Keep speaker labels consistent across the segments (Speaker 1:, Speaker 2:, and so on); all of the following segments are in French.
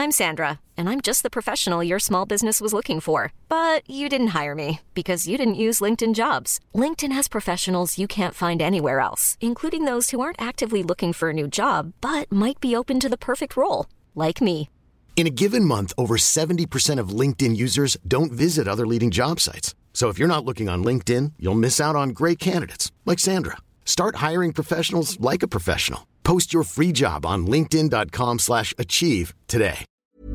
Speaker 1: I'm Sandra, and I'm just the professional your small business was looking for. But you didn't hire me because you didn't use LinkedIn Jobs. LinkedIn has professionals you can't find anywhere else, including those who aren't actively looking for a new job, but might be open to the perfect role, like me.
Speaker 2: In a given month, over 70% of LinkedIn users don't visit other leading job sites. So if you're not looking on LinkedIn, you'll miss out on great candidates like Sandra. Start hiring professionals like a professional. Post your free job on linkedin.com/achieve today.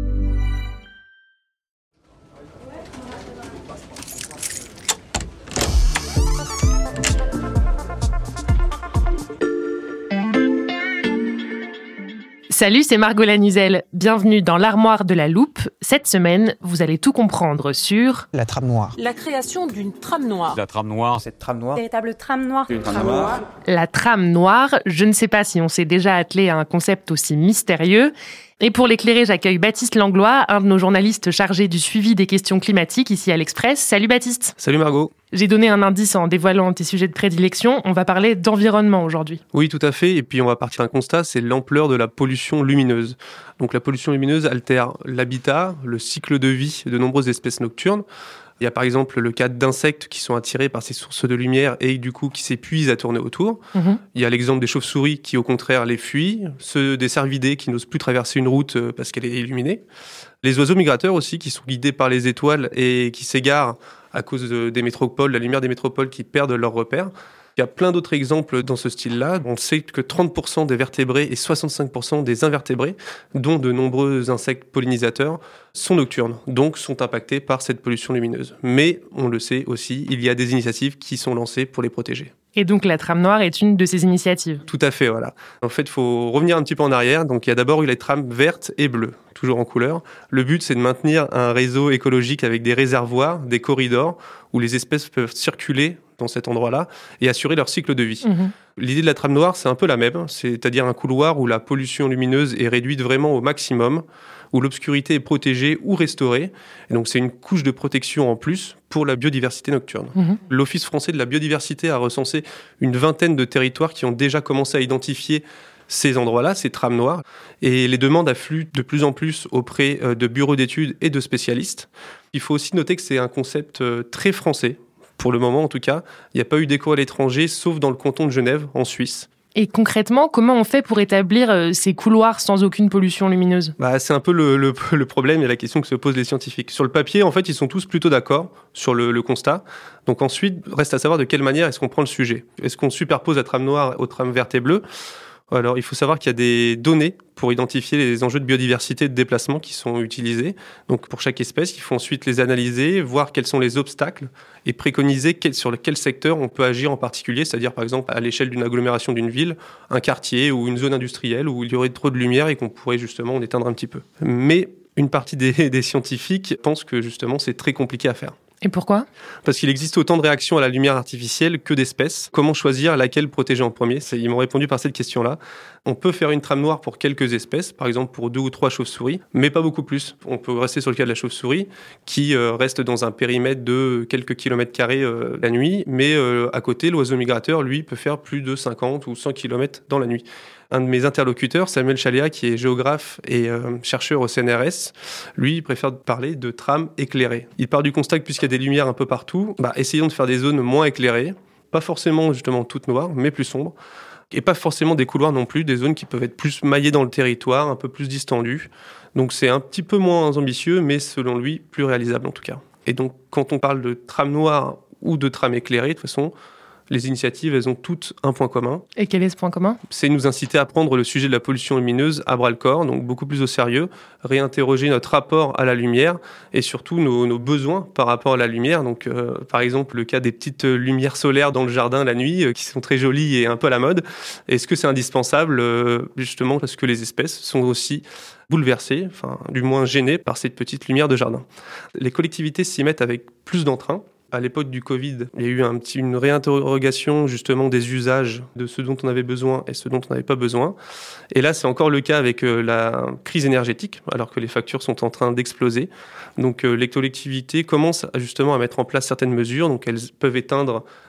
Speaker 3: Salut, c'est Margot Lanuzel. Bienvenue dans l'Armoire de la Loupe. Cette semaine, vous allez tout comprendre sur...
Speaker 4: La trame noire.
Speaker 5: La création d'une trame noire.
Speaker 6: La trame noire.
Speaker 4: Cette trame noire.
Speaker 5: Véritable trame noire.
Speaker 6: Une trame noire.
Speaker 3: La trame noire. Je ne sais pas si on s'est déjà attelé à un concept aussi mystérieux. Et pour l'éclairer, j'accueille Baptiste Langlois, un de nos journalistes chargés du suivi des questions climatiques ici à l'Express. Salut Baptiste.
Speaker 7: Salut Margot.
Speaker 3: J'ai donné un indice en dévoilant tes sujets de prédilection. On va parler d'environnement aujourd'hui.
Speaker 7: Oui, tout à fait. Et puis on va partir d'un constat, c'est l'ampleur de la pollution lumineuse. Donc la pollution lumineuse altère l'habitat, le cycle de vie de nombreuses espèces nocturnes. Il y a par exemple le cas d'insectes qui sont attirés par ces sources de lumière et du coup qui s'épuisent à tourner autour. Il y a l'exemple des chauves-souris qui au contraire les fuient, ceux des cervidés qui n'osent plus traverser une route parce qu'elle est illuminée. Les oiseaux migrateurs aussi qui sont guidés par les étoiles et qui s'égarent à cause des métropoles, la lumière des métropoles qui perdent leurs repères. Il y a plein d'autres exemples dans ce style-là. On sait que 30% des vertébrés et 65% des invertébrés, dont de nombreux insectes pollinisateurs, sont nocturnes, donc sont impactés par cette pollution lumineuse. Mais, on le sait aussi, il y a des initiatives qui sont lancées pour les protéger.
Speaker 3: Et donc la trame noire est une de ces initiatives.
Speaker 7: Tout à fait, voilà. En fait, il faut revenir un petit peu en arrière. Donc, il y a d'abord eu les trames vertes et bleues, toujours en couleur. Le but, c'est de maintenir un réseau écologique avec des réservoirs, des corridors, où les espèces peuvent circuler dans cet endroit-là et assurer leur cycle de vie. L'idée de la trame noire, c'est un peu la même, c'est-à-dire un couloir où la pollution lumineuse est réduite vraiment au maximum, où l'obscurité est protégée ou restaurée. Et donc, c'est une couche de protection en plus pour la biodiversité nocturne. L'Office français de la biodiversité a recensé une vingtaine de territoires qui ont déjà commencé à identifier ces endroits-là, ces trames noires. Et les demandes affluent de plus en plus auprès de bureaux d'études et de spécialistes. Il faut aussi noter que c'est un concept très français. Pour le moment, en tout cas, il n'y a pas eu d'écho à l'étranger, sauf dans le canton de Genève, en Suisse.
Speaker 3: Et concrètement, comment on fait pour établir ces couloirs sans aucune pollution lumineuse ?
Speaker 7: C'est un peu le problème et la question que se posent les scientifiques. Sur le papier, en fait, ils sont tous plutôt d'accord sur le constat. Donc ensuite, reste à savoir de quelle manière est-ce qu'on prend le sujet. Est-ce qu'on superpose la trame noire aux trames vertes et bleues ? Alors, il faut savoir qu'il y a des données pour identifier les enjeux de biodiversité et de déplacement qui sont utilisés. Donc, pour chaque espèce, il faut ensuite les analyser, voir quels sont les obstacles et préconiser sur quel secteur on peut agir en particulier, c'est-à-dire, par exemple, à l'échelle d'une agglomération d'une ville, un quartier ou une zone industrielle où il y aurait trop de lumière et qu'on pourrait justement en éteindre un petit peu. Mais une partie des scientifiques pensent que, justement, c'est très compliqué à faire.
Speaker 3: Et pourquoi ?
Speaker 7: Parce qu'il existe autant de réactions à la lumière artificielle que d'espèces. Comment choisir laquelle protéger en premier ? Ils m'ont répondu par cette question-là. On peut faire une trame noire pour quelques espèces, par exemple pour 2 ou 3 chauves-souris, mais pas beaucoup plus. On peut rester sur le cas de la chauve-souris, qui reste dans un périmètre de quelques kilomètres carrés la nuit, mais à côté, l'oiseau migrateur, lui, peut faire plus de 50 ou 100 kilomètres dans la nuit. Un de mes interlocuteurs, Samuel Chaléa, qui est géographe et chercheur au CNRS, lui, il préfère parler de trames éclairées. Il part du constat que puisqu'il y a des lumières un peu partout, essayons de faire des zones moins éclairées, pas forcément justement toutes noires, mais plus sombres, et pas forcément des couloirs non plus, des zones qui peuvent être plus maillées dans le territoire, un peu plus distendues. Donc c'est un petit peu moins ambitieux, mais selon lui, plus réalisable en tout cas. Et donc quand on parle de trame noire ou de trame éclairée, de toute façon, les initiatives, elles ont toutes un point commun.
Speaker 3: Et quel est ce point commun ?
Speaker 7: C'est nous inciter à prendre le sujet de la pollution lumineuse à bras-le-corps, donc beaucoup plus au sérieux, réinterroger notre rapport à la lumière et surtout nos besoins par rapport à la lumière. Donc, par exemple, le cas des petites lumières solaires dans le jardin la nuit, qui sont très jolies et un peu à la mode. Est-ce que c'est indispensable, justement, parce que les espèces sont aussi bouleversées, enfin, du moins gênées par cette petite lumière de jardin. Les collectivités s'y mettent avec plus d'entrain. À l'époque du Covid, il y a eu une réinterrogation justement des usages, de ce dont on avait besoin et ce dont on n'avait pas besoin. Et là, c'est encore le cas avec la crise énergétique, alors que les factures sont en train d'exploser. Donc les collectivités commencent justement à mettre en place certaines mesures. Donc elles peuvent éteindre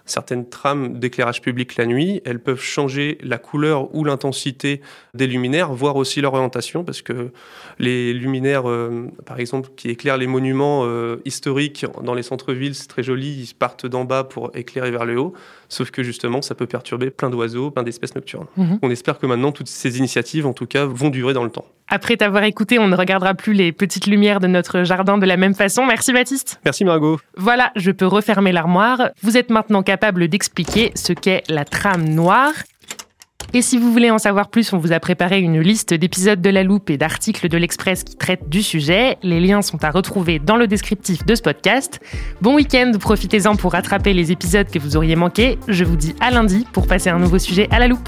Speaker 7: certaines trames d'éclairage public la nuit, elles peuvent changer la couleur ou l'intensité des luminaires, voire aussi leur orientation, parce que les luminaires, par exemple, qui éclairent les monuments historiques dans les centres-villes, c'est très joli, ils partent d'en bas pour éclairer vers le haut, sauf que justement, ça peut perturber plein d'oiseaux, plein d'espèces nocturnes. On espère que maintenant, toutes ces initiatives, en tout cas, vont durer dans le temps.
Speaker 3: Après t'avoir écouté, on ne regardera plus les petites lumières de notre jardin de la même façon. Merci Baptiste.
Speaker 7: Merci Margot.
Speaker 3: Voilà, je peux refermer l'armoire. Vous êtes maintenant capable d'expliquer ce qu'est la trame noire. Et si vous voulez en savoir plus, on vous a préparé une liste d'épisodes de La Loupe et d'articles de l'Express qui traitent du sujet. Les liens sont à retrouver dans le descriptif de ce podcast. Bon week-end, profitez-en pour rattraper les épisodes que vous auriez manqués. Je vous dis à lundi pour passer un nouveau sujet à La Loupe.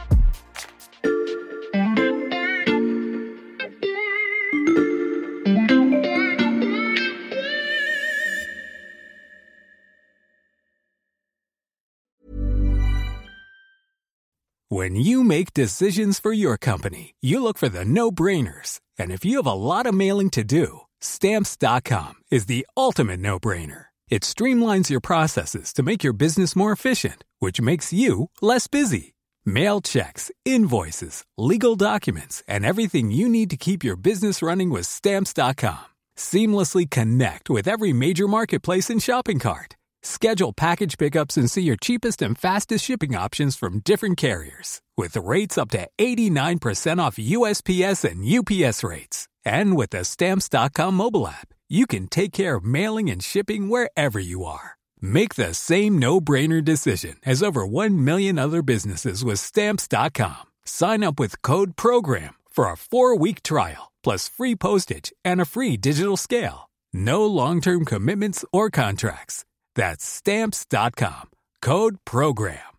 Speaker 4: When you make decisions for your company, you look for the no-brainers. And if you have a lot of mailing to do, Stamps.com is the ultimate no-brainer. It streamlines your processes to make your business more efficient, which makes you less busy. Mail checks, invoices, legal documents, and everything you need to keep your business running with Stamps.com. Seamlessly connect with every major marketplace and shopping cart. Schedule package pickups and see your cheapest and fastest shipping options from different carriers. With rates up to 89% off USPS and UPS rates. And with the Stamps.com mobile app, you can take care of mailing and shipping wherever you are. Make the same no-brainer decision as over 1 million other businesses with Stamps.com. Sign up with code PROGRAM for a 4-week trial, plus free postage and a free digital scale. No long-term commitments or contracts. That's Stamps.com. Code PROGRAM.